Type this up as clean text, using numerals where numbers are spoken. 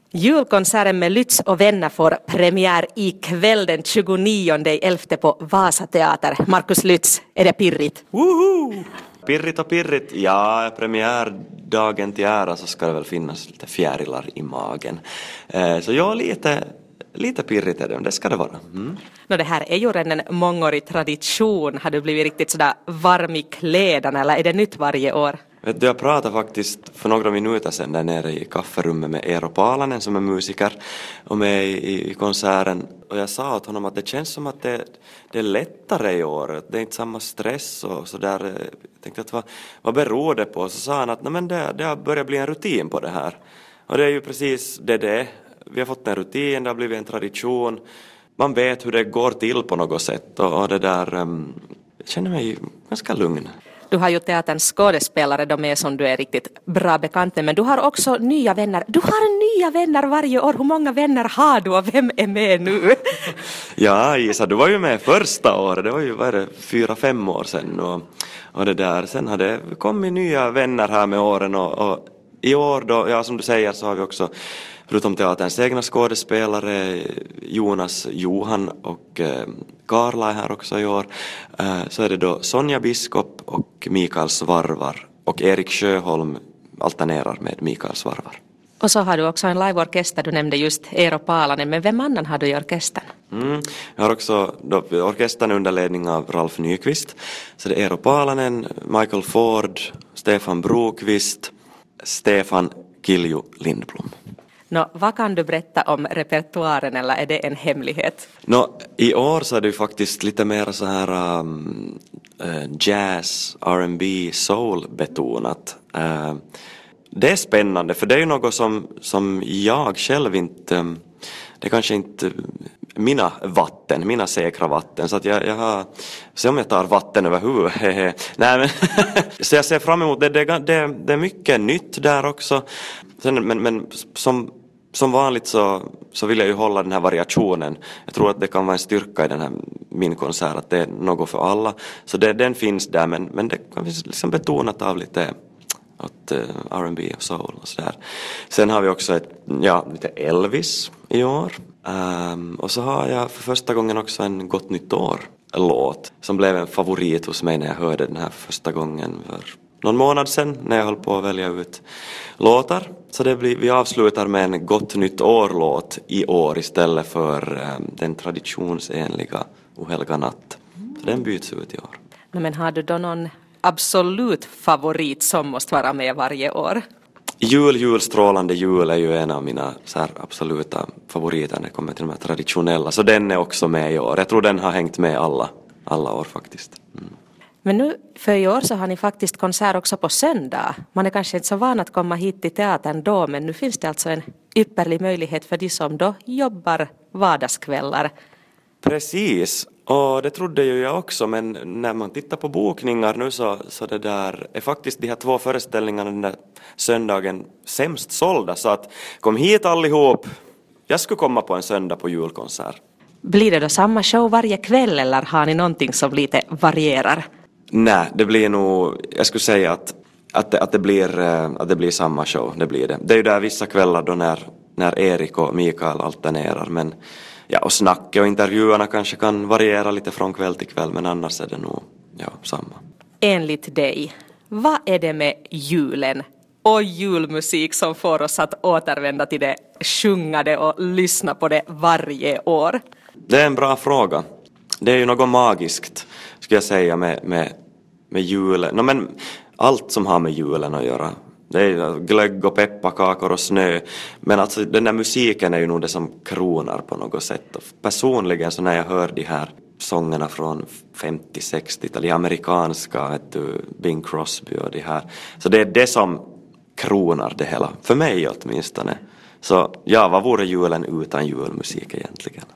Julkonserten med Lütz och vänner får premiär ikväll den 29/11 på Vasateater. Markus Lütz, är det pirrigt? Woho! Pirrigt och pirrigt. Ja, premiärdagen till ära så ska det väl finnas lite fjärilar i magen. Så jag lite pirrigt är det ska det vara. Det här är ju redan en mångårig tradition. Har du blivit riktigt sådär varm i kläderna eller är det nytt varje år? Vet du, jag pratade faktiskt för några minuter sedan där nere i kafferummet med Eero Paalanen som är musiker och med i konserten. Och jag sa åt honom att det känns som att det är lättare i år. Det är inte samma stress och sådär. Jag tänkte att vad beror det på? Så sa han att det har börjat bli en rutin på det här. Och det är ju precis det. Vi har fått en rutin, det har blivit en tradition. Man vet hur det går till på något sätt. Och det där, jag känner mig ganska lugn. Du har ju teaterns skådespelare, de är som du är riktigt bra bekant med, men du har också nya vänner. Du har nya vänner varje år. Hur många vänner har du och vem är med nu? Ja, Isa, du var ju med första året. Det var ju 4-5 år sedan. Och det där. Sen har det kommit nya vänner här med åren. Och i år då, ja som du säger, så har vi också förutom teaterns egna skådespelare Johan och Karla är här också i år. Så är det då Sonja Biskop och Mikael Svarvar. Och Erik Sjöholm alternerar med Mikael Svarvar. Och så har du också en liveorkester, du nämnde just Eero Paalanen, men vem annan har du i orkestern? Jag har också orkestern under ledning av Ralf Nyqvist. Så det är Eero Paalanen, Michael Ford, Stefan Brokvist, Stefan Kilju Lindblom. Vad kan du berätta om repertoaren eller är det en hemlighet? I år så är det ju faktiskt lite mer så här jazz, R&B, soul betonat. Det är spännande för det är ju något som jag själv inte, det är kanske inte mina säkra vatten så att jag har, se om jag tar vatten över huvudet. Nej men så jag ser fram emot det är mycket nytt där också. Sen, men som vanligt så vill jag ju hålla den här variationen. Jag tror att det kan vara en styrka i den här min konsert att det är något för alla. Så den finns där men det kan vi liksom betonat av lite R&B och soul och sådär. Sen har vi också lite Elvis i år. Och så har jag för första gången också en Gott nytt år-låt som blev en favorit hos mig när jag hörde den här första gången för någon månad sedan när jag höll på att välja ut låtar. Så vi avslutar med en Gott nytt år-låt i år istället för den traditionsenliga O helga natt. Så den byts ut i år. Men har du då någon absolut favorit som måste vara med varje år? Strålande jul är ju en av mina så här absoluta favoriter när det kommer till de här traditionella. Så den är också med i år. Jag tror den har hängt med alla år faktiskt. Men nu för i år så har ni faktiskt konsert också på söndag. Man är kanske inte så van att komma hit till teatern då, men nu finns det alltså en ypperlig möjlighet för de som då jobbar vardagskvällar. Precis, och det trodde ju jag också, men när man tittar på bokningar nu så det där är faktiskt de här 2 föreställningarna den där söndagen sämst sålda, så att kom hit allihop. Jag skulle komma på en söndag på julkonsert. Blir det då samma show varje kväll eller har ni någonting som lite varierar? Nej, det blir nog, jag skulle säga att det blir samma show, det blir det. Det är ju där vissa kvällar då när Erik och Mikael alternerar, men och snacket och intervjuerna kanske kan variera lite från kväll till kväll, men annars är det nog samma. Enligt dig, vad är det med julen och julmusik som får oss att återvända till det sjungade och lyssna på det varje år? Det är en bra fråga. Det är ju något magiskt, skulle jag säga, med julen. Men allt som har med julen att göra. Det är glögg och pepparkakor och snö. Men alltså den där musiken är ju nog det som kronar på något sätt. Och personligen så när jag hör de här sångerna från 50-60-tal, de amerikanska, Bing Crosby och de här. Så det är det som kronar det hela. För mig åtminstone. Så vad vore julen utan julmusik egentligen?